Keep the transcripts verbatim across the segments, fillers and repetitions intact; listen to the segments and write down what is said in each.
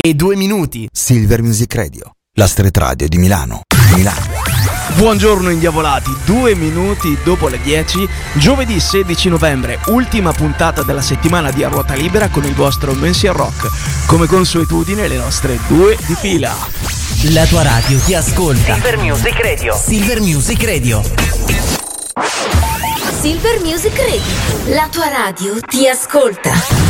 e due minuti. Silver Music Radio, la street radio di Milano. Milano. Buongiorno indiavolati, due minuti dopo le dieci, giovedì sedici novembre, ultima puntata della settimana di A Ruota Libera con il vostro Mensia Rock. Come consuetudine le nostre due di fila. La tua radio ti ascolta. Silver Music Radio. Silver Music Radio. Silver Music Radio. La tua radio ti ascolta.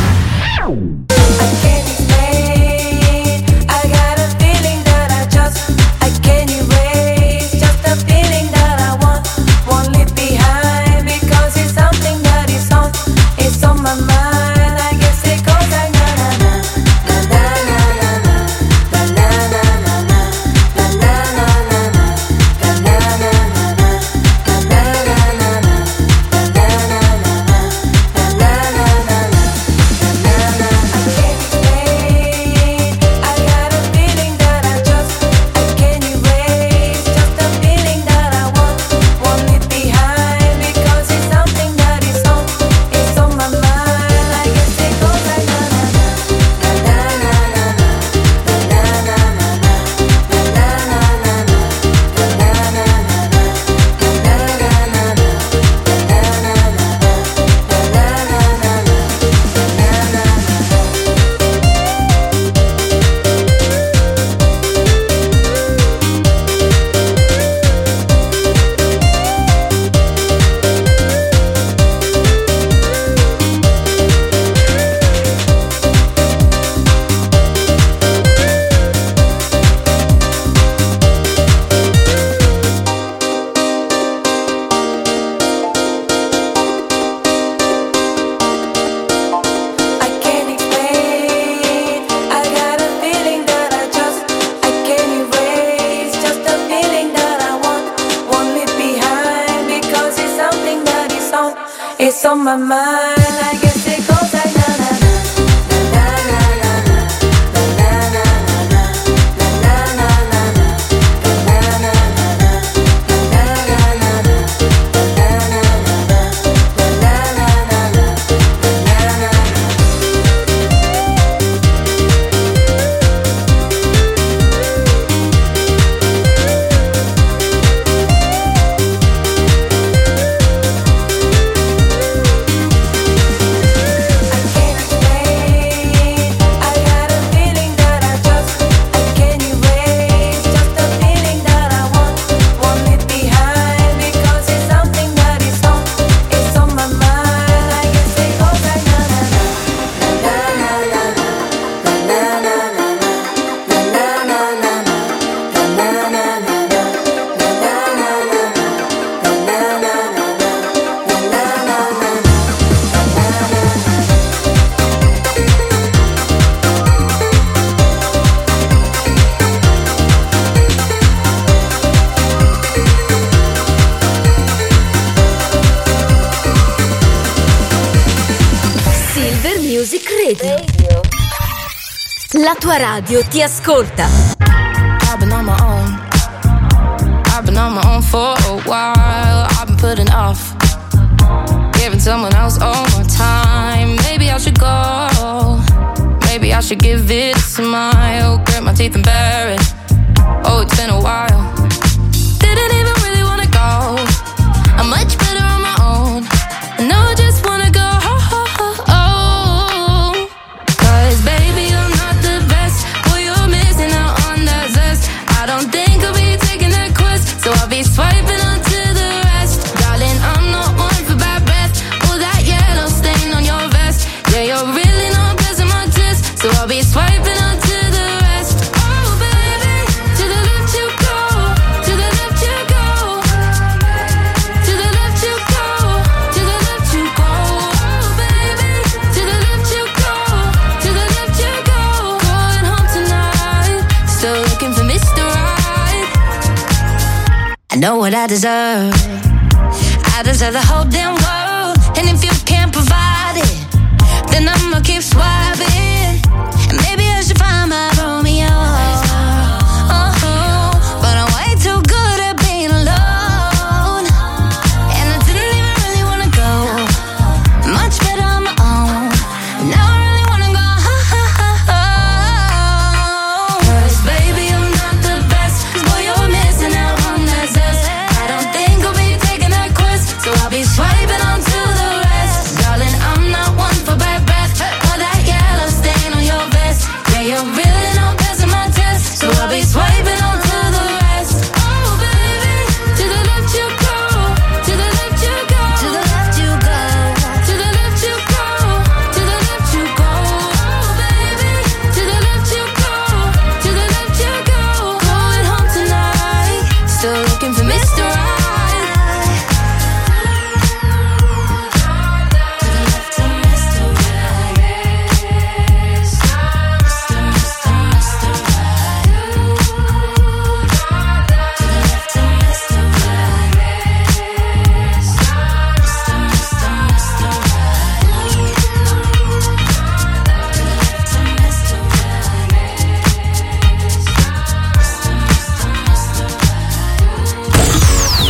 It's on my mind, I guess it goes like na na La tua radio ti ascolta. I've been on my own. I've been on my own for a while. I've been putting off giving someone else all my time. Maybe I should go. Maybe I should give it a smile. Grit my teeth and bear it. Oh, it's been a while. Didn't even really wanna go. I'm much better on my own. And now I just wanna go. So I'll be swiping onto the rest. Darling, I'm not one for bad breath. All that yellow stain on your vest. Yeah, you're really not blessing my test. So I'll be swiping onto the rest. Oh baby, to the left you go. To the left you go. To the left you go. To the left you go. Oh baby, to the left you go. To the left you go. Going home tonight. Still looking for Mister Right. I know what I deserve. I deserve the whole damn world. And if you can't provide it, then I'ma keep swiping. And maybe I should find my Romeo. Oh, but I'm way too good at being alone. And I didn't even really wanna go. Much better on my own. Now I really wanna go.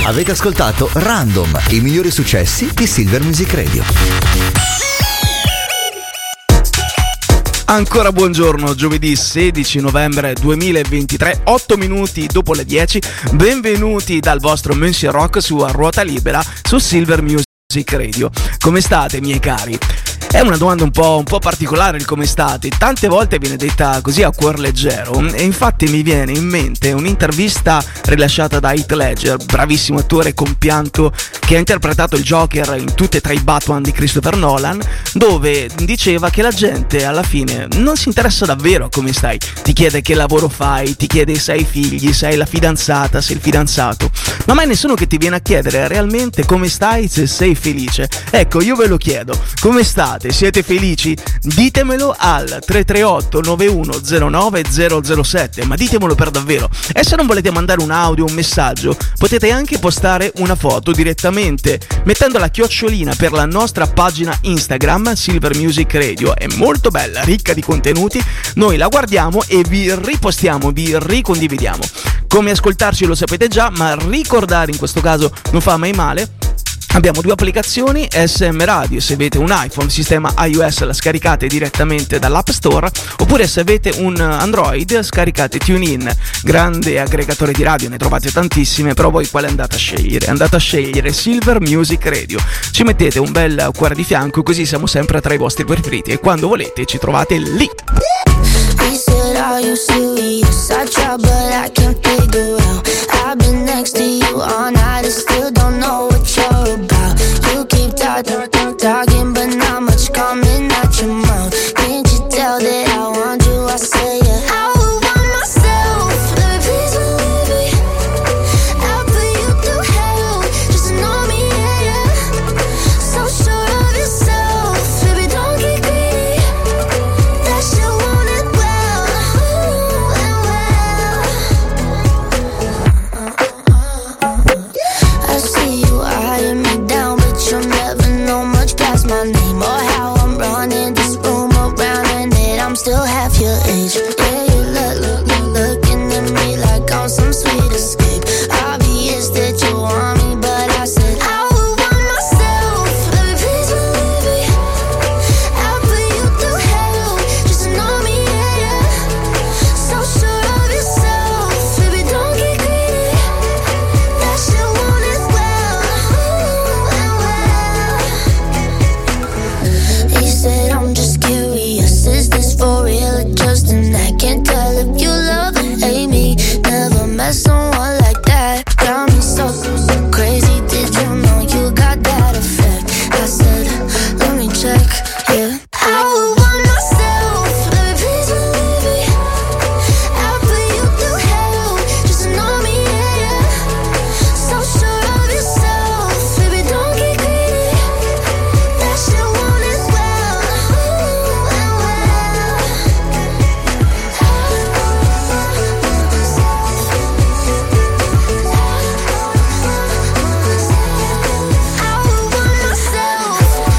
Avete ascoltato Random, i migliori successi di Silver Music Radio. Ancora buongiorno, giovedì sedici novembre duemilaventitré, otto minuti dopo le dieci. Benvenuti dal vostro Monsieur Rock su A Ruota Libera su Silver Music Radio. Come state, miei cari? È una domanda un po', un po' particolare il come state, tante volte viene detta così a cuor leggero e infatti mi viene in mente un'intervista rilasciata da Heath Ledger, bravissimo attore compianto che ha interpretato il Joker in tutte e tre i Batman di Christopher Nolan, dove diceva che la gente alla fine non si interessa davvero a come stai, ti chiede che lavoro fai, ti chiede se hai figli, se hai la fidanzata, se il fidanzato, ma mai nessuno che ti viene a chiedere realmente come stai, se sei felice. Ecco, io ve lo chiedo, come state? Siete felici? Ditemelo al tre tre otto nove uno zero nove zero zero sette, ma ditemelo per davvero. E se non volete mandare un audio, un messaggio, potete anche postare una foto direttamente mettendo la chiocciolina per la nostra pagina Instagram Silver Music Radio. È molto bella, ricca di contenuti, noi la guardiamo e vi ripostiamo, vi ricondividiamo. Come ascoltarci lo sapete già, ma ricordare in questo caso non fa mai male. Abbiamo due applicazioni, S M Radio, se avete un iPhone, sistema iOS, la scaricate direttamente dall'App Store, oppure se avete un Android, scaricate TuneIn, grande aggregatore di radio, ne trovate tantissime, però voi quale andate a scegliere? Andate a scegliere Silver Music Radio, ci mettete un bel cuore di fianco, così siamo sempre tra i vostri preferiti e quando volete ci trovate lì. Talking, talking, but not much coming out your mouth. Can't you tell that I want you? I say yeah. I would want myself, baby, please believe me. I'll put you through hell, just to know me, yeah, yeah. So sure of yourself, baby, don't get greedy. That you want it well, ooh, and well. I see you eyeing me down, but you'll never know much past my name or how I'm running this room around and that I'm still half your age. Yeah, you look, look, look, looking at me like I'm some sweet escape. Obvious that you want me, but I said I would want myself, baby, please believe me. I'll put you through hell, just to know me, yeah, yeah. So sure of yourself, baby, don't get greedy. That you want it well, ooh, and well. He said I'm just curious, is this for real or just an act? Can't tell if you love or hate me. Never met someone like that. Got me so, so crazy. Did you know you got that effect? I said, let me check, yeah. I would want myself, baby, please believe me. I'll put you through hell, just to know me, yeah, yeah. So sure of yourself, baby, don't get greedy. That you want it well, ooh, and well. I would want myself.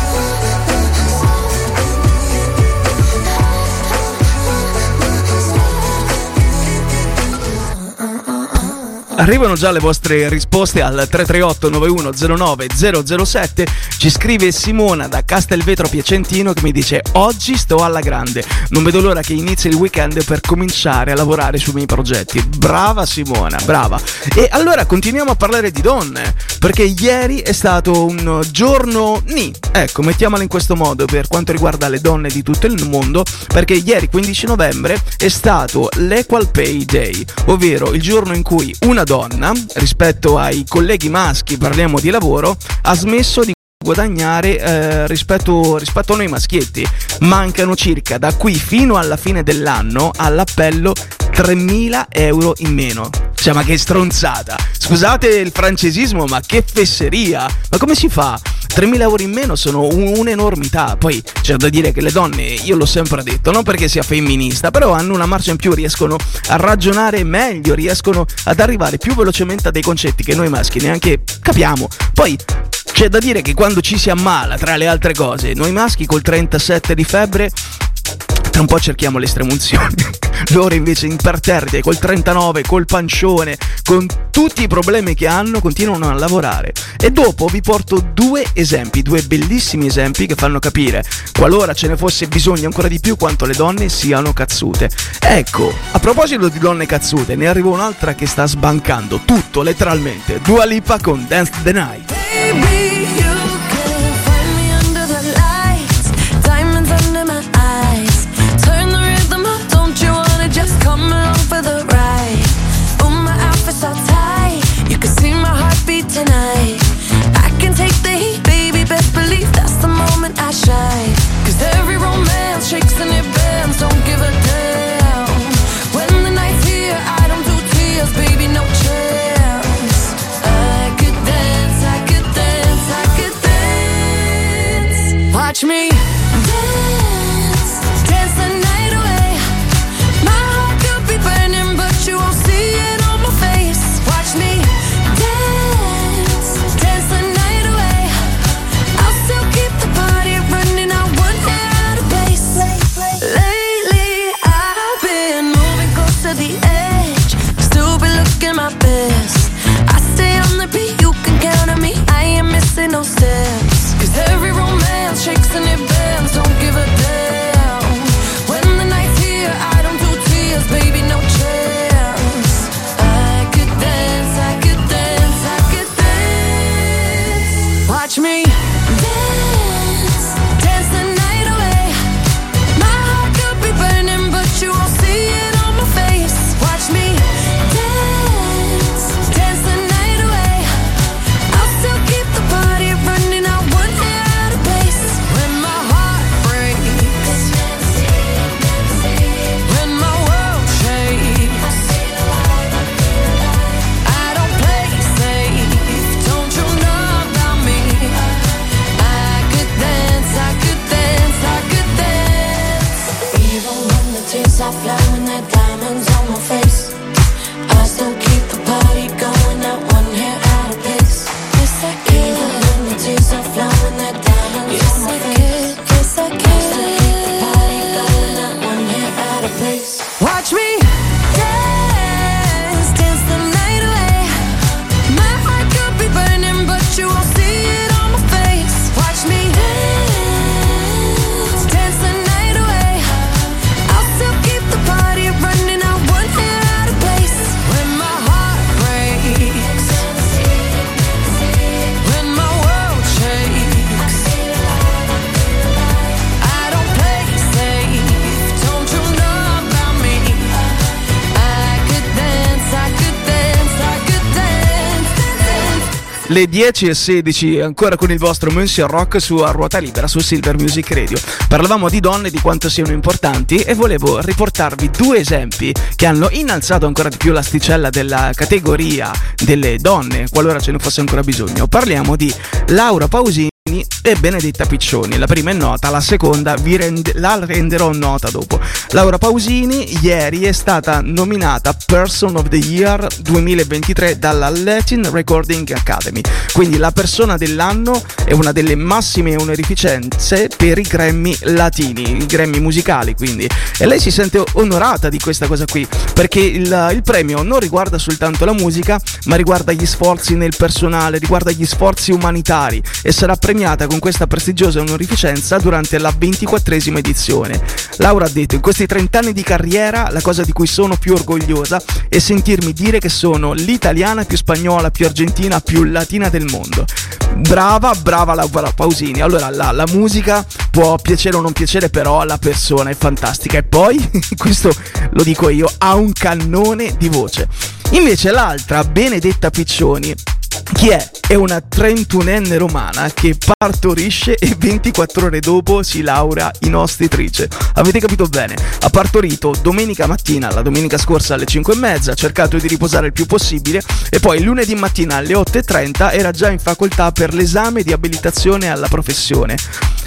Arrivano già le vostre risposte al tre tre otto nove uno zero nove zero zero sette. Ci scrive Simona da Castelvetro Piacentino che mi dice: oggi sto alla grande, non vedo l'ora che inizi il weekend per cominciare a lavorare sui miei progetti. Brava Simona, brava. E allora continuiamo a parlare di donne, perché ieri è stato un giorno ni, ecco, mettiamola in questo modo per quanto riguarda le donne di tutto il mondo, perché ieri quindici novembre è stato l'Equal Pay Day, ovvero il giorno in cui una donna, rispetto ai colleghi maschi, parliamo di lavoro, ha smesso di guadagnare eh, rispetto, rispetto a noi maschietti. Mancano circa da qui fino alla fine dell'anno all'appello tremila euro in meno. Cioè, ma che stronzata, scusate il francesismo, ma che fesseria, ma come si fa? tremila euro in meno sono un'enormità. Poi c'è da dire che le donne, io l'ho sempre detto, non perché sia femminista, però hanno una marcia in più, riescono a ragionare meglio, riescono ad arrivare più velocemente a dei concetti che noi maschi neanche capiamo. Poi c'è da dire che quando ci si ammala, tra le altre cose, noi maschi col trentasette di febbre tra un po' cerchiamo le estremunzioni. Loro invece imperterriti, col trentanove, col pancione, con tutti i problemi che hanno, continuano a lavorare. E dopo vi porto due esempi, due bellissimi esempi che fanno capire, qualora ce ne fosse bisogno ancora di più, quanto le donne siano cazzute. Ecco, a proposito di donne cazzute, ne arriva un'altra che sta sbancando tutto, letteralmente. Dua Lipa con Dance the Night. Baby, you can find me under the lights, diamonds under my eyes. Turn the rhythm up, don't you wanna just come along for the ride? Oh, my outfit's all tight, you can see my heartbeat tonight. I can take the heat, baby, best believe that's the moment I shine. Cause every romance shakes and it bends, don't give a damn. When the night's here, I don't do tears, baby, no chance. I could dance, I could dance, I could dance. Watch me dance, dance the night away. My heart could be burning, but you won't see it on my face. Watch me dance, dance the night away. I'll still keep the party running, I won't get out of place. Lately I've been moving close to the edge, still be looking my best. I stay on the beat, you can count on me, I ain't missing no steps. Cause every romance shakes and it bends, don't give a damn. When the night's here, I don't do tears, baby, no chance. I could dance, I could dance, I could dance. Watch me dance, dance the night away. My heart could be burning, but you won't see it on my face. Watch me dance, dance the night away. I'll still keep the party running, I won't get out of place. When my heart breaks, when my world shakes, I don't play safe, don't you know about me? I could dance, I could dance, I could dance. Even when the tears are flowing, the diamonds on my face, I still keep the party going, not one hair out of place. Yes, I can. Even when the tears are flowing, the diamonds on my face, yes, I can. I still keep the party going, not one hair out of place. Watch me dance, dance the night away. My heart could be burning, but you won't see it on my face. Watch me dance, dance the night away. I'll still keep the party running, I won't get out of place. When my heart breaks, when my world shakes, I don't play safe, don't you know about me? I could dance, I could dance, I could dance, dance. Le dieci e sedici, ancora con il vostro Monsieur Rock su A Ruota Libera su Silver Music Radio. Parlavamo di donne, di quanto siano importanti, e volevo riportarvi due esempi che hanno innalzato ancora di più l'asticella della categoria delle donne, qualora ce ne fosse ancora bisogno. Parliamo di Laura Pausini e Benedetta Piccioni. La prima è nota, la seconda vi rende, la renderò nota dopo. Laura Pausini ieri è stata nominata Person of the Year duemilaventitré dalla Latin Recording Academy, quindi la persona dell'anno è una delle massime onorificenze per i Grammy latini, i Grammy musicali, quindi, e lei si sente onorata di questa cosa qui, perché il, il premio non riguarda soltanto la musica, ma riguarda gli sforzi nel personale, riguarda gli sforzi umanitari, e sarà premiata con questa prestigiosa onorificenza durante la ventiquattresima edizione. Laura ha detto: in questi trenta anni di carriera la cosa di cui sono più orgogliosa è sentirmi dire che sono l'italiana più spagnola, più argentina, più latina del mondo. Brava, brava Laura Pausini. Allora la, la musica può piacere o non piacere, però la persona è fantastica, e poi questo lo dico io, ha un cannone di voce. Invece l'altra, Benedetta Piccioni, chi è? È una trentunenne romana che partorisce e ventiquattro ore dopo si laurea in ostetrice. Avete capito bene? Ha partorito domenica mattina, la domenica scorsa alle cinque e mezza, ha cercato di riposare il più possibile, e poi lunedì mattina alle otto e trenta era già in facoltà per l'esame di abilitazione alla professione.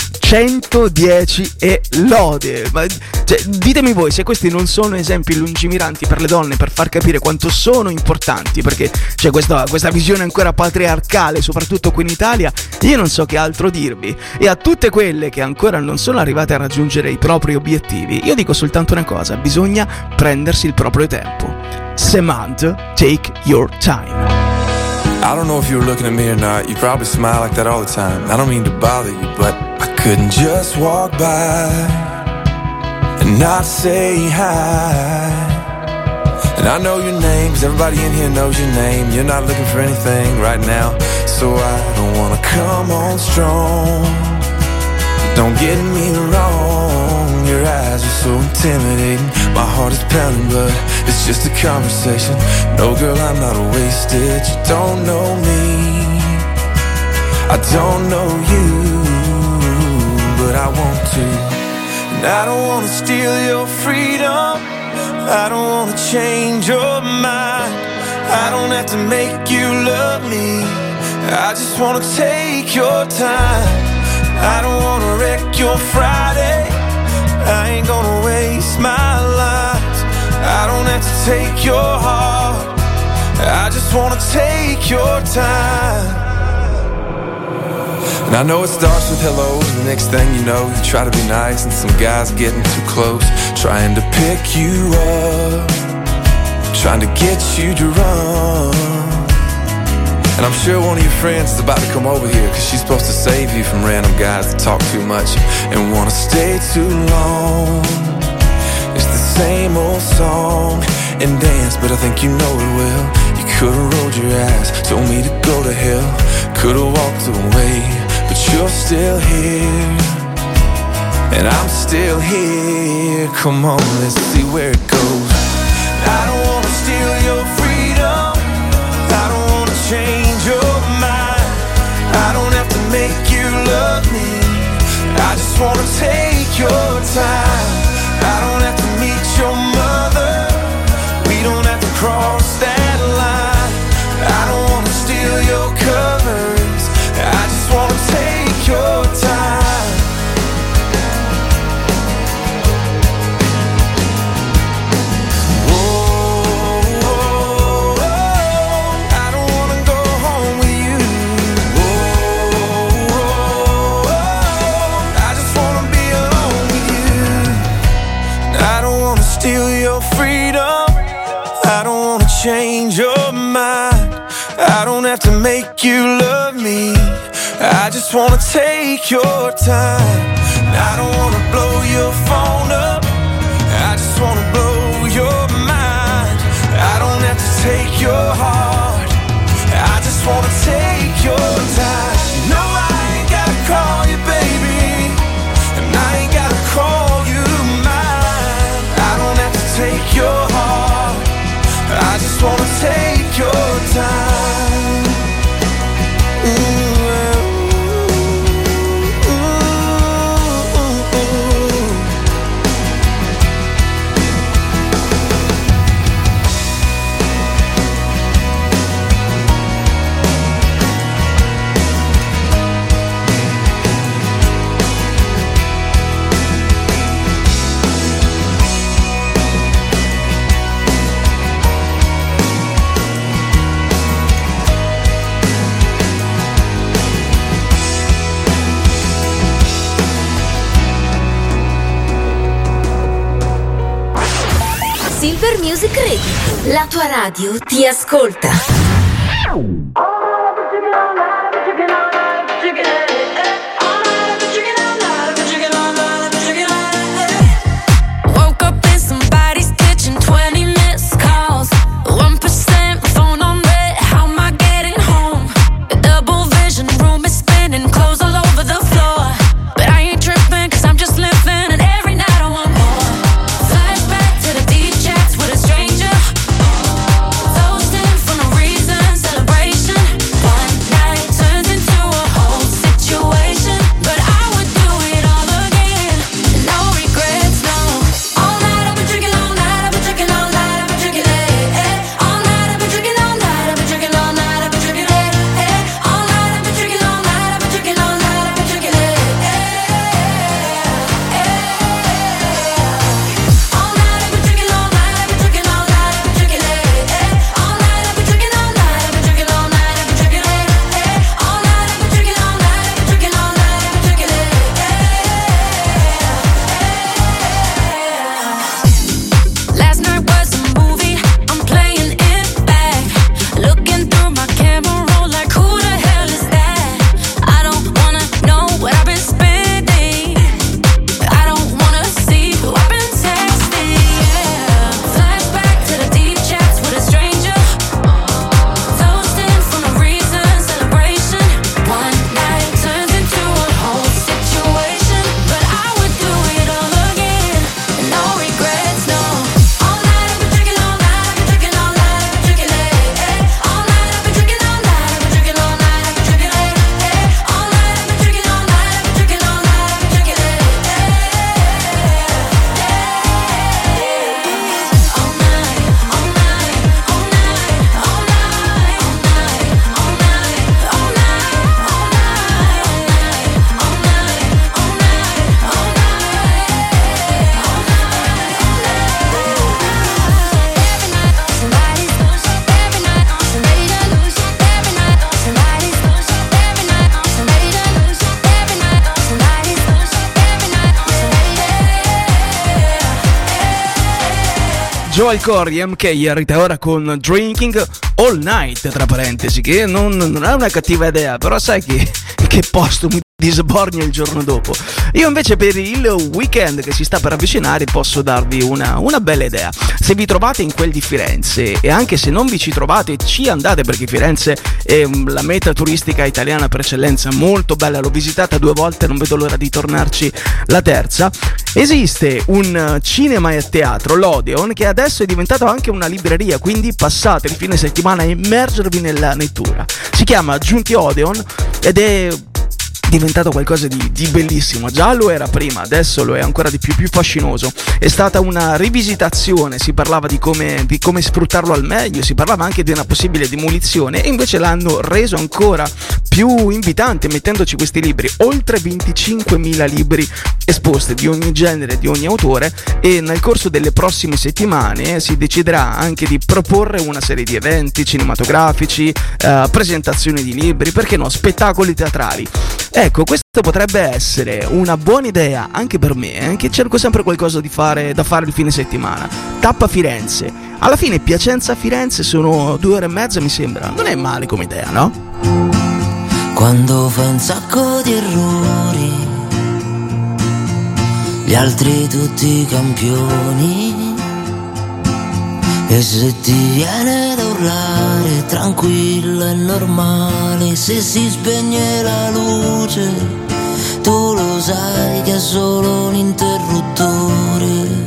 centodieci e lode. Ma, cioè, ditemi voi se questi non sono esempi lungimiranti per le donne, per far capire quanto sono importanti, perché c'è questa, questa visione ancora patriarcale, soprattutto qui in Italia. Io non so che altro dirvi. E a tutte quelle che ancora non sono arrivate a raggiungere i propri obiettivi, io dico soltanto una cosa: bisogna prendersi il proprio tempo. Samantha, take your time. I don't know if you were looking at me or not. You probably smile like that all the time. I don't mean to bother you, but I couldn't just walk by and not say hi. And I know your name, cause everybody in here knows your name. You're not looking for anything right now, so I don't wanna come on strong. Don't get me wrong, your eyes are so intimidating. My heart is pounding, but it's just a conversation. No, girl, I'm not wasted. You don't know me, I don't know you, but I want to. And I don't wanna steal your freedom, I don't wanna change your mind. I don't have to make you love me, I just wanna take your time. I don't wanna wreck your Friday, I ain't gonna waste my life. I don't have to take your heart, I just wanna take your time. And I know it starts with hello, and the next thing you know, you try to be nice, and some guy's getting too close, trying to pick you up, trying to get you to run. And I'm sure one of your friends is about to come over here, cause she's supposed to save you from random guys that talk too much and wanna stay too long. It's the same old song and dance, but I think you know it well. You could've rolled your eyes, told me to go to hell, could've walked away, but you're still here, and I'm still here. Come on, let's see where it goes. I don't wanna steal your freedom, I don't wanna change your mind, I don't have to make you love me, I just wanna take your time. I don't have to meet your mother, we don't have to cross that line. I don't wanna steal your covers, I just wanna take your time. Steal your freedom, I don't wanna change your mind, I don't have to make you love me, I just wanna take your time. I don't wanna blow your phone up, I just wanna blow your mind. I don't have to take your heart, I just wanna take your time. No, I ain't gotta call you baby, and I ain't gotta call you take your heart, I just wanna take your time. Ooh, ooh, ooh, ooh. Silver Music Radio, la tua radio ti ascolta. Woke up in somebody's kitchen, twenty missed calls, one percent phone on red, how am I getting home? The double vision room is spinning, clothes all over the floor, but I ain't tripping cause I'm just living, and every night I want more. Flashback to the deep chats with a stranger, toasting from a real Joel Corey, M K e Rita Ora con Drinking All Night, tra parentesi, che non, non è una cattiva idea, però sai che, che posto mi disbornia il giorno dopo. Io invece per il weekend che si sta per avvicinare posso darvi una, una bella idea. Se vi trovate in quel di Firenze, e anche se non vi ci trovate ci andate, perché Firenze è la meta turistica italiana per eccellenza, molto bella, l'ho visitata due volte, non vedo l'ora di tornarci la terza. Esiste un cinema e teatro, l'Odeon, che adesso è diventato anche una libreria, quindi passate il fine settimana a immergervi nella lettura. Si chiama Giunti Odeon ed è diventato qualcosa di, di bellissimo. Già lo era prima, adesso lo è ancora di più, più fascinoso. È stata una rivisitazione, si parlava di come, di come sfruttarlo al meglio, si parlava anche di una possibile demolizione, e invece l'hanno reso ancora più invitante mettendoci questi libri, oltre venticinquemila libri esposti di ogni genere, di ogni autore, e nel corso delle prossime settimane si deciderà anche di proporre una serie di eventi cinematografici, eh, presentazioni di libri, perché no, spettacoli teatrali. Ecco, questo potrebbe essere una buona idea anche per me, eh, che cerco sempre qualcosa di fare, da fare il fine settimana. Tappa Firenze. Alla fine Piacenza-Firenze sono due ore e mezza, mi sembra. Non è male come idea, no? Quando fai un sacco di errori, gli altri tutti campioni, e se ti viene da urlare, tranquillo è normale. Se si spegne la luce, tu lo sai che è solo un interruttore.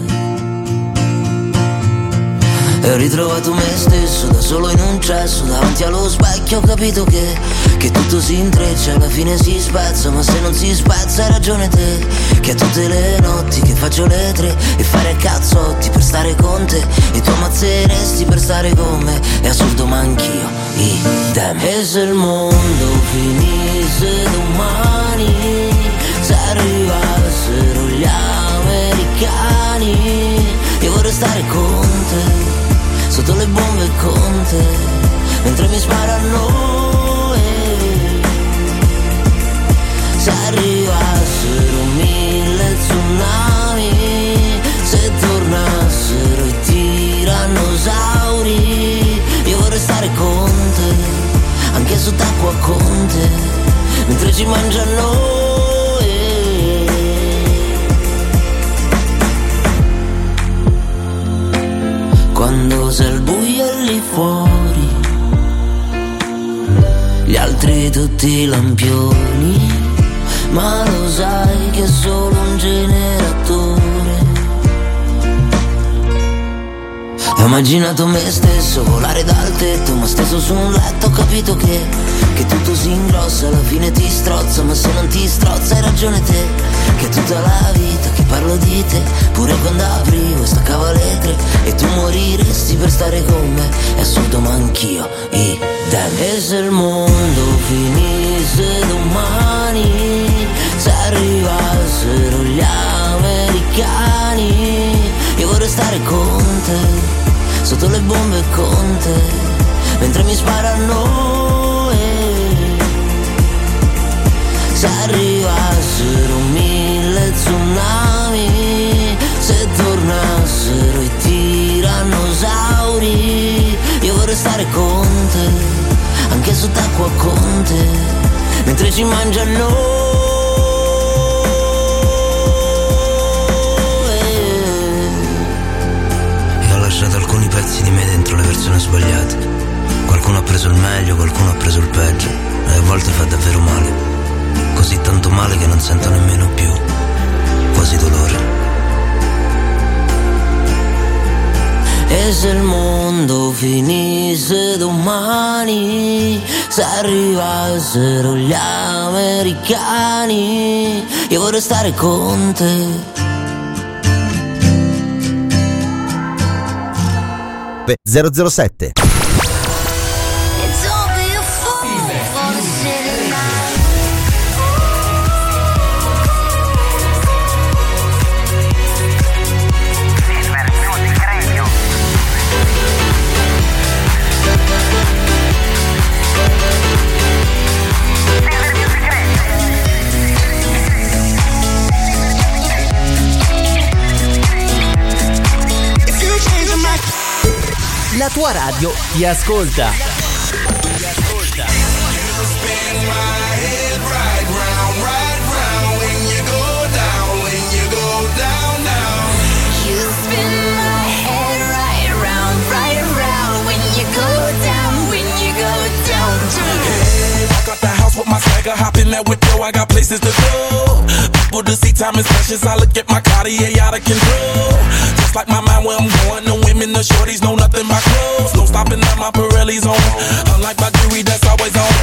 E ho ritrovato me stesso da solo in un cesso, davanti allo specchio ho capito che, che tutto si intreccia, alla fine si spezza, ma se non si spezza hai ragione te, che a tutte le notti che faccio le tre e fare cazzotti per stare con te, e tu ammazzeresti per stare con me, è assurdo ma anch'io idem. E se il mondo finisse domani, se arrivassero gli americani, io vorrei stare con te, sotto le bombe con te, mentre mi sparano. E se arrivassero mille tsunami, se tornassero i tirannosauri, io vorrei stare con te, anche sott'acqua con te, mentre ci mangiano. Quando sei al buio lì fuori, gli altri tutti lampioni, ma lo sai che è solo un generatore. Ho immaginato me stesso volare dal tetto, ma steso su un letto, ho capito che, che tutto si ingrossa, alla fine ti strozza, ma se non ti strozza hai ragione te, che tutta la vita che parlo di te, pure quando aprivo e staccavo le tre, e tu moriresti per stare con me, è assurdo ma anch'io idem. E se il mondo finisse domani, se arrivassero gli americani, io vorrei stare con te, sotto le bombe con te, mentre mi sparano. E se arrivassero mille tsunami, se tornassero i tirannosauri, io vorrei stare con te, anche sott'acqua con te, mentre ci mangiano. E ho lasciato alcuni pezzi di me dentro le persone sbagliate. Qualcuno ha preso il meglio, qualcuno ha preso il peggio, e a volte fa davvero male, così tanto male che non sento nemmeno più quasi dolore. E se il mondo finisse domani, se arrivassero gli americani, io vorrei stare con te. zero zero sette If you change your mind La tua radio ti ascolta. With my swagger, hop in that window, I got places to go. People to see, time is precious. I look at my Cartier out of control. Just like my mind where I'm going, the women, the shorties know nothing but clothes. No stopping at my Pirelli's on. Unlike my jewelry, that's always on.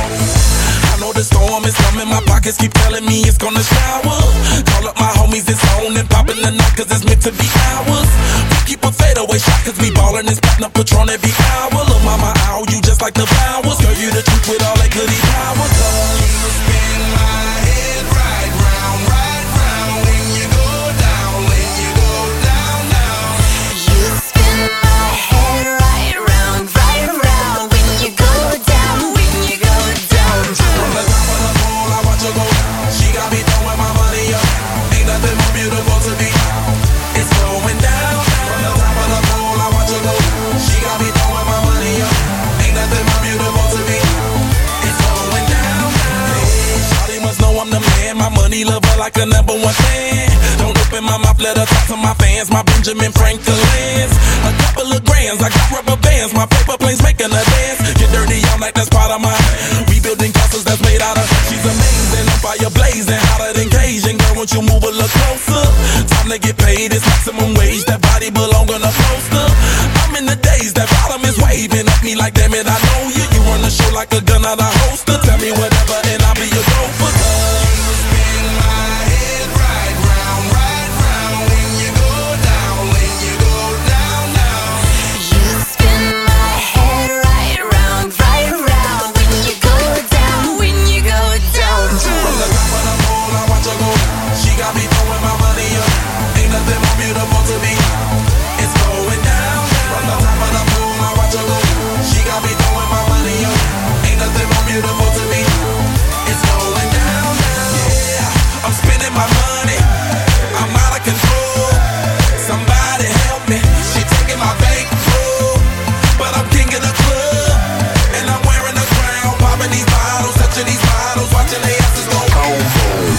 I know the storm is coming, my pockets keep telling me it's gonna shower. Call up my homies, it's on and popping the night, cause it's meant to be ours. We keep a fadeaway shot, cause we ballin' and spittin' up Patron every hour. Look, mama, ow, you just like the flowers. Girl, you the truth with all that goody powers. You spin my head right round, right round. When you go down, when you go down, down. You spin my head right round, right round. When you go down, when you go down, From the top of the pole, I watch her go down. She got me throwing my money up. Ain't nothing more beautiful to me. It's going down. From the top of the pole, I watch her go down. She got me throwing my money up. Ain't nothing more beautiful to me. It's going down. Hey, shawty must know I'm the man. My money lover like a number one fan. Don't open my mouth, let her talk to my fans. My Benjamin Franklin's. A couple of grands, I got rubber bands. My paper planes making a dance. Get dirty, I'm like that's part of my rebuilding castles that's made out of. She's amazing, on fire blazing, hotter than Cajun. Girl, won't you move a little closer? Time to get paid, it's maximum wage. That body belong on a poster. I'm in the days, that bottom is waving at me like damn it, I know you. You run the show like a gun out of holster. Tell me whatever and I'll be your gopher. You spin my head right round, right round. When you go down, when you go down, down. you spin my head right round, right round. When you go down, when you go down, From the top of the pole, I watch her go down. She got me throwing my money up. Ain't nothing more beautiful to me. It's going down. From the top of the pole, I watch her go down. She got me throwing my money up. Ain't nothing more beautiful to me. It's going down. Yeah, I'm spending my money. I'm out of control. Somebody help me. She taking my bankroll, but I'm king of the club, and I'm wearing a crown. Popping these bottles, touching these bottles, watching they asses go boom, boom.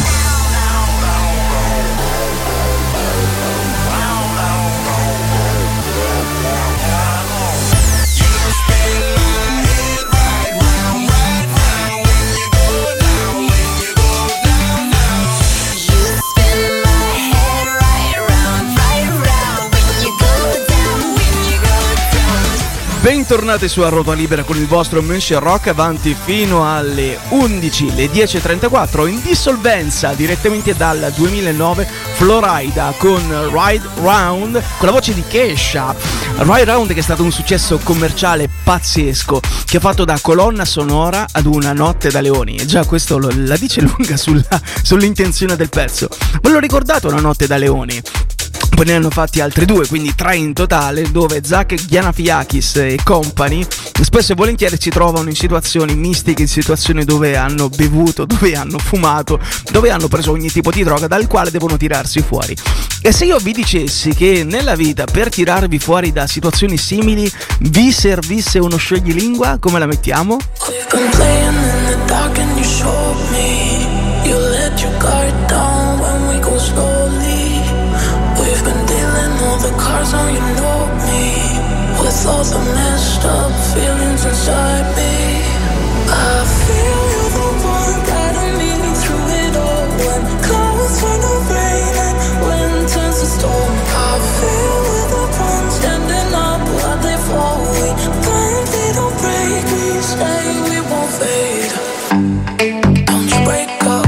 You spin my head right round, right round. When you go down, when you go down, down. you spin my head right round, right round. When you go down, when you go down. Bentornati su A Ruota Libera con il vostro Monsieur Rock, avanti fino alle undici, le dieci e trentaquattro, in dissolvenza direttamente dal duemilanove, Florida con Ride Round, con la voce di Kesha. Ride Round che è stato un successo commerciale pazzesco, che ha fatto da colonna sonora ad Una notte da leoni, e già questo lo, la dice lunga sulla, sull'intenzione del pezzo. Ve lo ricordate Una notte da leoni? Poi ne hanno fatti altri due, quindi tre in totale, dove Zach Galifianakis e company spesso e volentieri si trovano in situazioni mistiche, in situazioni dove hanno bevuto, dove hanno fumato, dove hanno preso ogni tipo di droga dal quale devono tirarsi fuori. E se io vi dicessi che nella vita per tirarvi fuori da situazioni simili vi servisse uno scioglilingua, come la mettiamo? We've been playing in the dark and you showed me. You let your guard down when we go slowly. We've been dealing all the cards on, you know me. With all the messed up feelings inside me. I feel you're the one guiding me through it all. When clouds turn to rain and wind turns to storm. I feel we're the ones standing up while they fall. We blindly don't break, we stay, we won't fade. Don't you break up.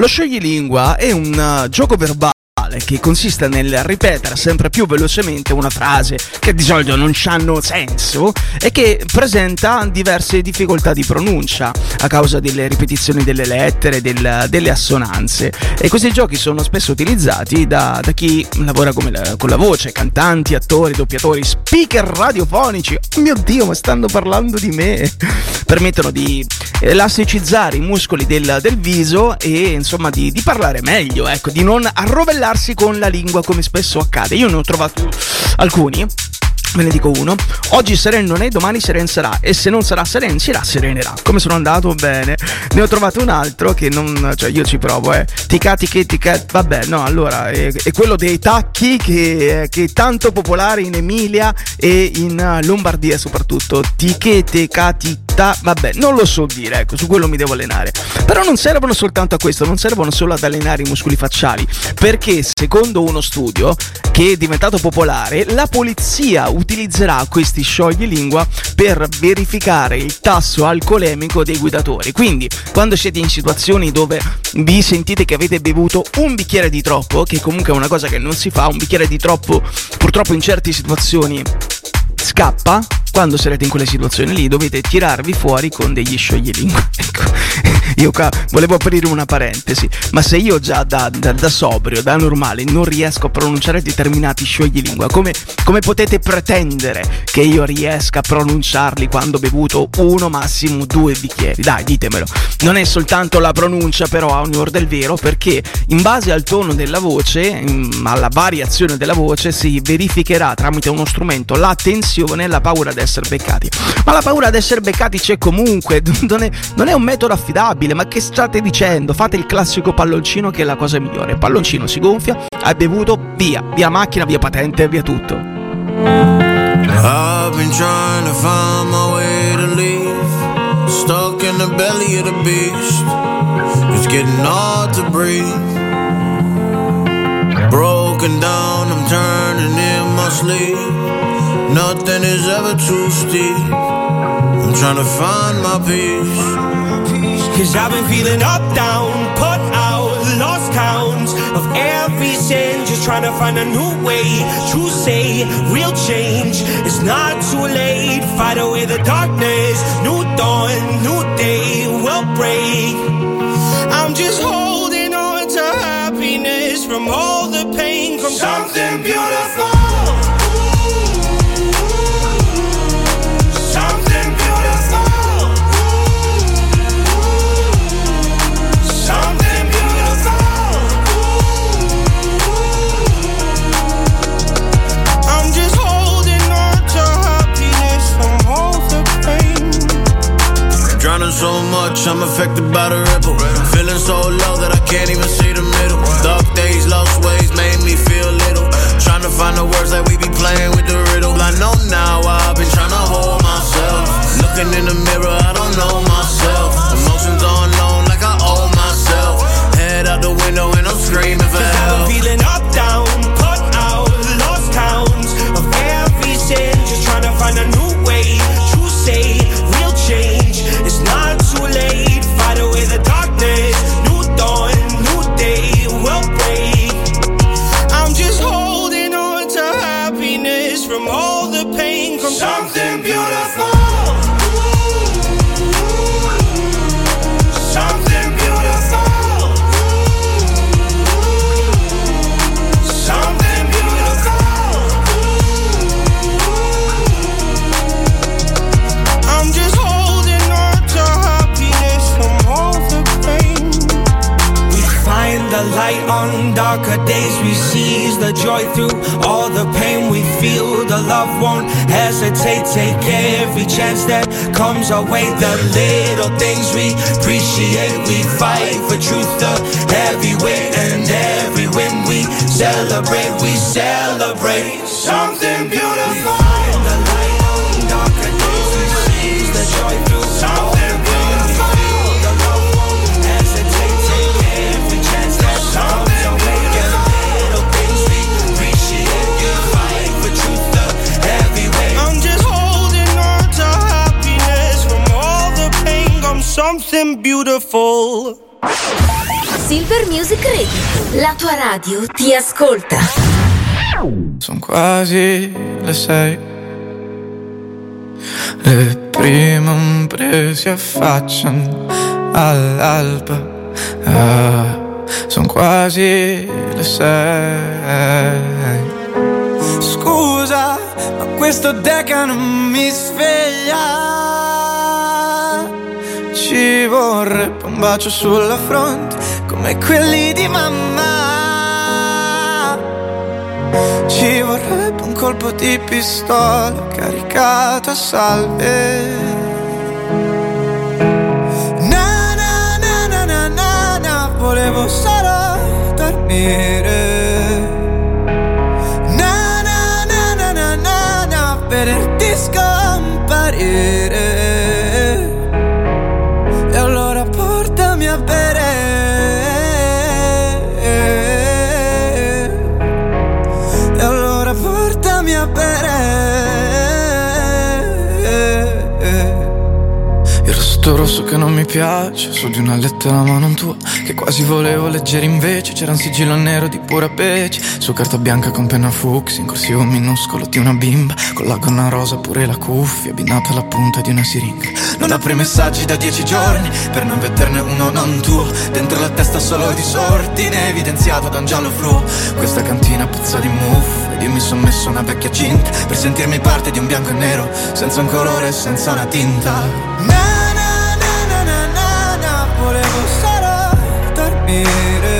Lo scioglilingua è un uh, gioco verbale che consiste nel ripetere sempre più velocemente una frase che di solito non hanno senso e che presenta diverse difficoltà di pronuncia a causa delle ripetizioni delle lettere, del, delle assonanze, e questi giochi sono spesso utilizzati da, da chi lavora come la, con la voce, cantanti, attori, doppiatori, speaker radiofonici. Oh mio Dio, ma stanno parlando di me! Permettono di elasticizzare i muscoli del, del viso e insomma di, di parlare meglio, ecco, di non arrovellarsi con la lingua come spesso accade. Io ne ho trovato alcuni, ve ne dico uno. Oggi Seren non è, domani Seren sarà, e se non sarà Seren si rasserenerà. Come sono andato? Bene. Ne ho trovato un altro che non, cioè io ci provo, eh. Tica tica tica, vabbè, no, allora è, è quello dei tacchi che, che è tanto popolare in Emilia e in Lombardia soprattutto. Tiche tica tica, vabbè, non lo so dire, ecco, su quello mi devo allenare. Però non servono soltanto a questo, non servono solo ad allenare i muscoli facciali, perché secondo uno studio che è diventato popolare, la polizia utilizzerà questi scioglilingua per verificare il tasso alcolemico dei guidatori. Quindi quando siete in situazioni dove vi sentite che avete bevuto un bicchiere di troppo, che comunque è una cosa che non si fa, un bicchiere di troppo purtroppo in certe situazioni scappa, quando sarete in quelle situazioni lì dovete tirarvi fuori con degli scioglilingua. Ecco, io qua volevo aprire una parentesi, ma se io già da, da, da sobrio, da normale, non riesco a pronunciare determinati scioglilingua, come, come potete pretendere che io riesca a pronunciarli quando ho bevuto uno, massimo due bicchieri? Dai, ditemelo. Non è soltanto la pronuncia, però, a onor del vero, perché in base al tono della voce, alla variazione della voce, si verificherà tramite uno strumento la tensione e la paura di essere beccati. Ma la paura di essere beccati c'è comunque, non è, non è un metodo affidabile. Ma che state dicendo? Fate il classico palloncino, che è la cosa migliore. Palloncino si gonfia, hai bevuto, via, via macchina, via patente, via tutto. I've been trying to find my way to leave, stuck in the belly of the beast. It's getting hard to breathe. Broken down, I'm turning in my sleep. Nothing is ever too steep. I'm trying to find my peace. Cause I've been feeling up, down, put out, lost count of every sin. Just trying to find a new way to say real change. It's not too late, fight away the darkness. New dawn, new day will break. I'm just holding on to happiness from all the pain, from something beautiful. So much, I'm affected by the ripple. Feeling so low that I can't even see the middle. Dark days, lost ways made me feel little. Trying to find the words that we be playing with the riddle. I know now I've been trying to hold myself. Looking in the mirror, I don't know myself. Emotions on loan like I owe myself. Head out the window and I'm screaming for help. I'm feeling up, down, put out, lost count of every sin. Just trying to find a new way to say real change. It's not too late, fight away the darkness. New dawn, new day will break. I'm just holding on to happiness from all the pain, from something beautiful. Something beautiful. Something beautiful. I'm just holding on to happiness from all the pain. We find the light on darker days. We seize the joy through all the pain we feel. The love won't hesitate. Take every chance that comes our way. The little things we appreciate. We fight for truth, the heavy weight. And every win we celebrate. We celebrate something beautiful. We find the light on darker days. We seize the joy through something beautiful. The love won't hesitate. Take every chance that comes our way. The little things we appreciate. We fight for truth, the heavy weight. I'm just holding on to happiness from all the pain. I'm something beautiful. Silver Music Radio, la tua radio ti ascolta. Sono quasi le sei, le prime ombre si affacciano all'alba. Ah, sono quasi le sei. Scusa, ma questo deca non mi sveglia. Ci vorrebbe un bacio sulla fronte come quelli di mamma. Ci vorrebbe un colpo di pistola caricato a salve. Na na na na na na na, volevo solo dormire. Na na na na na na na, vederti scomparire. E allora portami a bere. E allora portami a bere. Il rossetto rosso che non mi piace, su di una lettera ma non tua, che quasi volevo leggere invece. C'era un sigillo nero di pura pece, su carta bianca con penna fucsia, in corsivo minuscolo di una bimba, con la gonna rosa pure la cuffia, abbinata alla punta di una siringa. Non apri messaggi da dieci giorni, per non vederne uno non tuo, dentro la testa solo disordine, evidenziato da un giallo fluo. Questa cantina puzza di muffe, ed io mi son messo una vecchia cinta, per sentirmi parte di un bianco e nero, senza un colore e senza una tinta. Na na na na na na na, volevo solo dormire.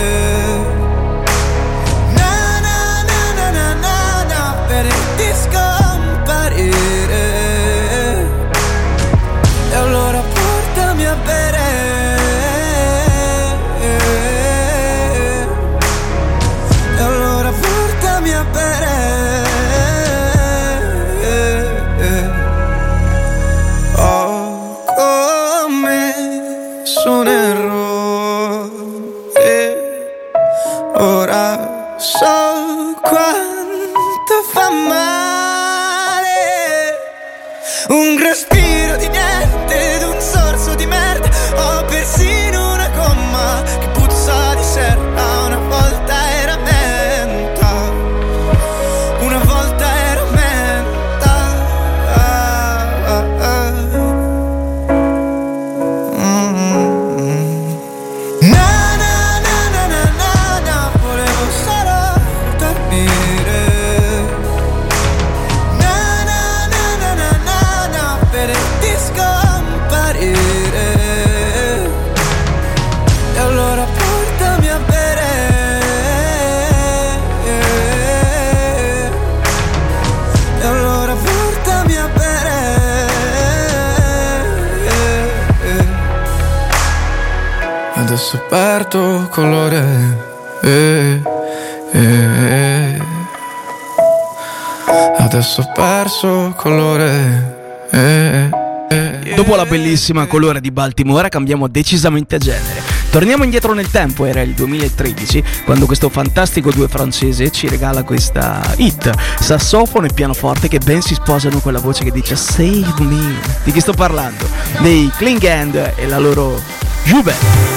Na na na na na na na, vederti scomparire. E allora portami a bere. E allora portami a bere. Ho commesso un errore, ora so quanto fa male. Un respiro di niente ed un sorso di merda. Ho persino una gomma che puzza di serra. Una volta era menta, una volta era menta. Ah, ah, ah. Mm-hmm. Na na na na na na na, volevo solo dormire. Na na na na na na na, vederti scomparire. E allora portami a bere. E allora portami a bere. Adesso perdo colore. Eh, eh. Adesso ho perso colore. Eh, eh. Dopo la bellissima Colore di Baltimora cambiamo decisamente genere. Torniamo indietro nel tempo, era il duemilatredici, quando questo fantastico duo francese ci regala questa hit, sassofono e pianoforte che ben si sposano con la voce che dice Save Me. Di chi sto parlando? Dei Clean Hand e la loro Juve.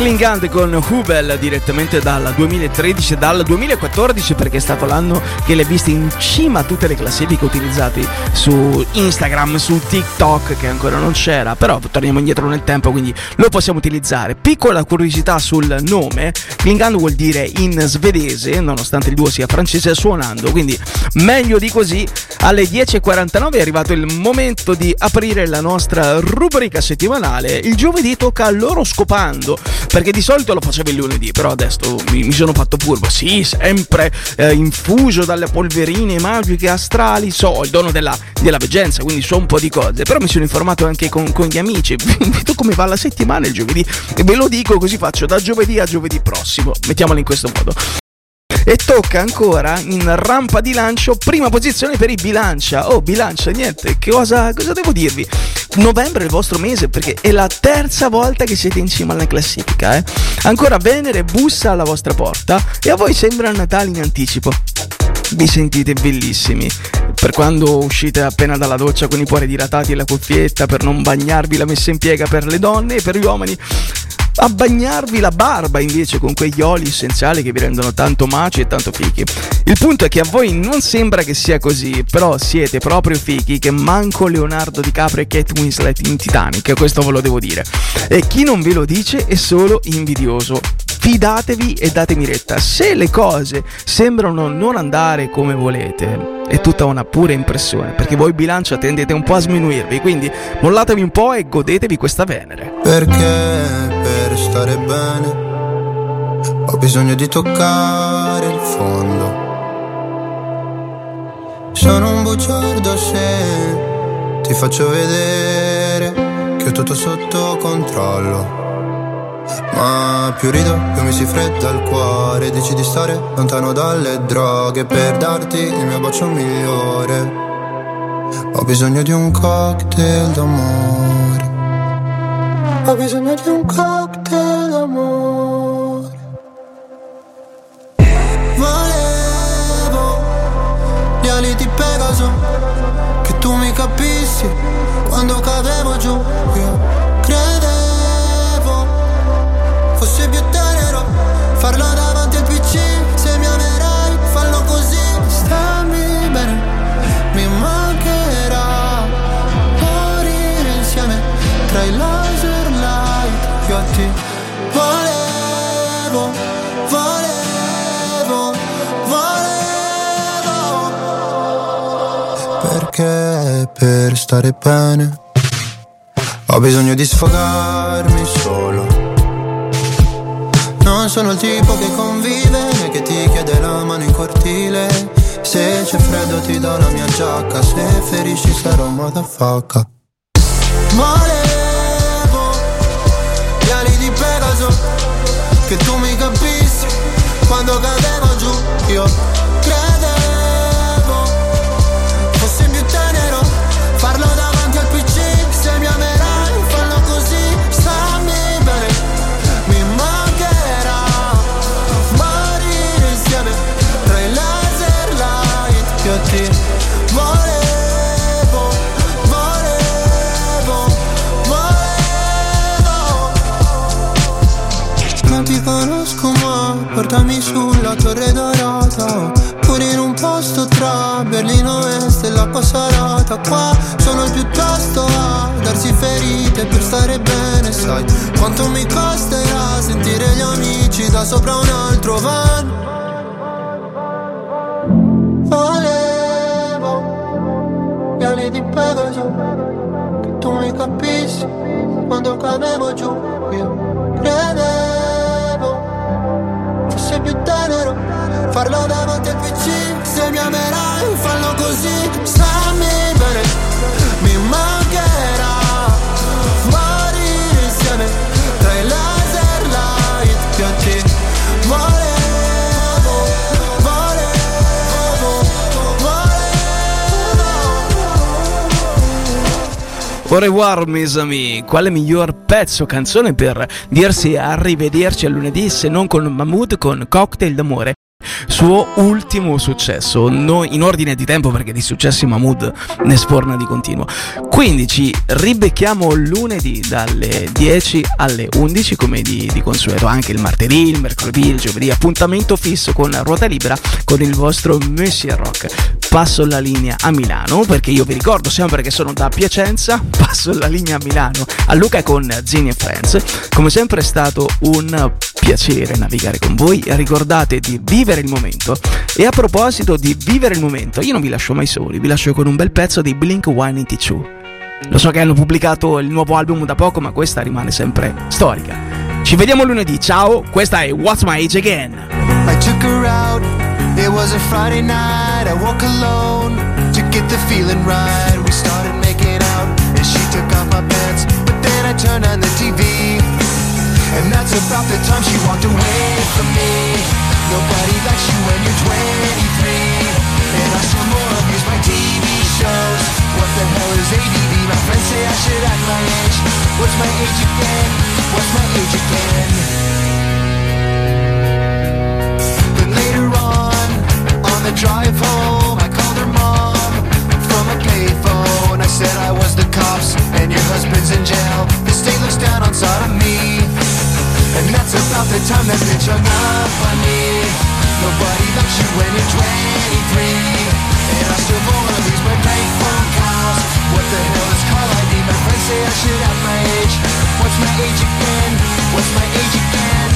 Klingande con Hubel direttamente dal duemilatredici, dal duemilaquattordici, perché è stato l'anno che l'hai vista in cima a tutte le classifiche utilizzate su Instagram, su TikTok, che ancora non c'era, però torniamo indietro nel tempo, quindi lo possiamo utilizzare. Piccola curiosità sul nome: Klingande vuol dire in svedese, nonostante il duo sia francese, suonando, quindi meglio di così. Alle dieci e quarantanove è arrivato il momento di aprire la nostra rubrica settimanale. Il giovedì tocca all'oroscopando, perché di solito lo facevo il lunedì, però adesso mi, mi sono fatto furbo. Sì, sempre eh, infuso dalle polverine magiche astrali, so, il dono della, della veggenza, quindi so un po' di cose, però mi sono informato anche con, con gli amici. Vedo come va la settimana il giovedì e ve lo dico, così faccio da giovedì a giovedì prossimo, mettiamolo in questo modo. E tocca ancora in rampa di lancio, prima posizione per i Bilancia. Oh, Bilancia, niente, che cosa, cosa devo dirvi? Novembre è il vostro mese, perché è la terza volta che siete in cima alla classifica, eh? Ancora Venere bussa alla vostra porta e a voi sembra Natale in anticipo. Vi sentite bellissimi per quando uscite appena dalla doccia con i pori dilatati e la cuffietta, per non bagnarvi la messa in piega per le donne, e per gli uomini a bagnarvi la barba invece con quegli oli essenziali che vi rendono tanto maci e tanto fichi. Il punto è che a voi non sembra che sia così, però siete proprio fichi che manco Leonardo DiCaprio e Kate Winslet in Titanic, questo ve lo devo dire. E chi non ve lo dice è solo invidioso. Fidatevi e datemi retta. Se le cose sembrano non andare come volete, è tutta una pura impressione, perché voi Bilancia tendete un po' a sminuirvi, quindi mollatevi un po' e godetevi questa Venere. Perché per stare bene ho bisogno di toccare il fondo. Sono un bugiardo se ti faccio vedere che ho tutto sotto controllo. Ma più rido, più mi si fredda il cuore. Dici di stare lontano dalle droghe per darti il mio bacio migliore. Ho bisogno di un cocktail d'amore. Ho bisogno di un cocktail d'amore. Volevo gli ali di Pegaso, che tu mi capissi quando cadevo giù. Io credevo fosse più tenero farlo davanti al P C. Se mi amerai, fallo così. Stammi bene, mi mancherà morire insieme tra i laser light. Io a te volevo, volevo, volevo. Perché per stare bene ho bisogno di sfogarmi solo. Non sono il tipo che convive né che ti chiede la mano in cortile. Se c'è freddo ti do la mia giacca, se ferisci sarò motherfucker. Volevo gli ali di Pegaso, che tu mi capissi quando cadevo giù. Io credevo fosse più tenero farlo davanti al P C. Se mi amerai, fallo così. Stammi bene, mi mancherà morire insieme tra i laser light. Io ti volevo, volevo, volevo. Non ti conosco ma portami sulla Torre Dorata, pure in un posto tra Berlino Est e l'acqua salata. Qua sono il più tosto a darsi ferite per stare bene. Sai quanto mi costerà sentire gli amici da sopra un altro van. Volevo gli ali di Pegaso, che tu mi capissi quando cadevo giù. Io credevo fosse più tenero farlo davanti al P C. Se mi amerai, fallo così. Stammi bene, mi mancherà morire insieme tra i laser light. Io ti volevo, volevo, volevo. Au revoir mes amis, quale miglior pezzo, canzone per dirsi arrivederci a lunedì se non con Mahmood con Cocktail d'amore. suo ultimo successo, no, in ordine di tempo perché di successi Mahmood ne sforna di continuo. Quindi ci ribecchiamo lunedì dalle dieci alle undici come di, di consueto, anche il martedì, il mercoledì, il giovedì, appuntamento fisso con Ruota Libera con il vostro Monsieur Rock. Passo la linea a Milano perché io vi ricordo sempre che sono da Piacenza, passo la linea a Milano a Luca con Zini e Friends. Come sempre è stato un piacere navigare con voi, ricordate di vivere il momento. E a proposito di vivere il momento, io non vi lascio mai soli, vi lascio con un bel pezzo di Blink centottantadue. Lo so che hanno pubblicato il nuovo album da poco, ma questa rimane sempre storica. Ci vediamo lunedì, ciao, questa è What's My Age Again. I took her out, it was a Friday night, I woke alone to get the feeling right. We started making out and she took off my pants, but then I turned on the T V and that's about the time she walked away from me. Nobody likes you when you're twenty-three, and I still more abuse my T V shows. What the hell is A D D? My friends say I should act my age. What's my age again? What's my age again? Then later on, on the drive home, I called her mom from a payphone. I said I was the cops and your husband's in jail. The state looks down on sodomy, and that's about the time that bitch hung up on me. Nobody likes you when you're twenty-three, and I still wanna lose my bank phone calls. What the hell is call I D? My friends say I should have my age. What's my age again? What's my age again?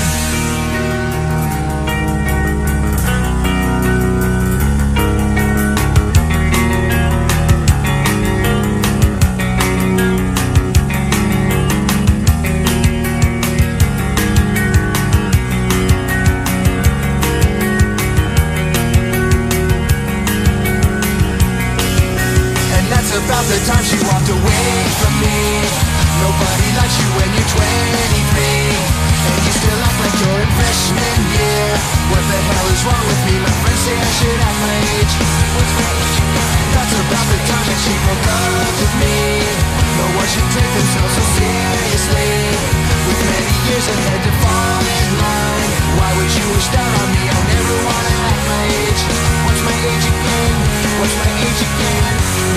About the time she walked away from me. Nobody likes you when you're twenty-three, and you still act like you're in freshman year. What the hell is wrong with me? My friends say I should act my age. What's my age? That's about the time that she broke up with me. No one should take themselves so seriously, with many years ahead to fall in line. Why would you wish down on me? I never wanna act my age. What's my age again? What's my age again?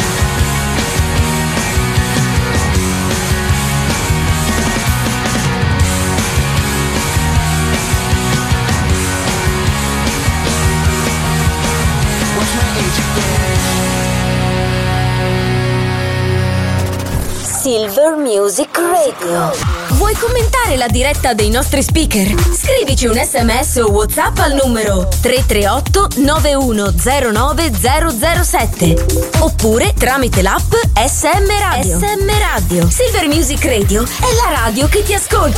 Silver Music Radio. Vuoi commentare la diretta dei nostri speaker? Scrivici un sms o WhatsApp al numero tre tre otto nove uno zero nove zero zero sette oppure tramite l'app S M Radio. S M Radio. Silver Music Radio è la radio che ti ascolta.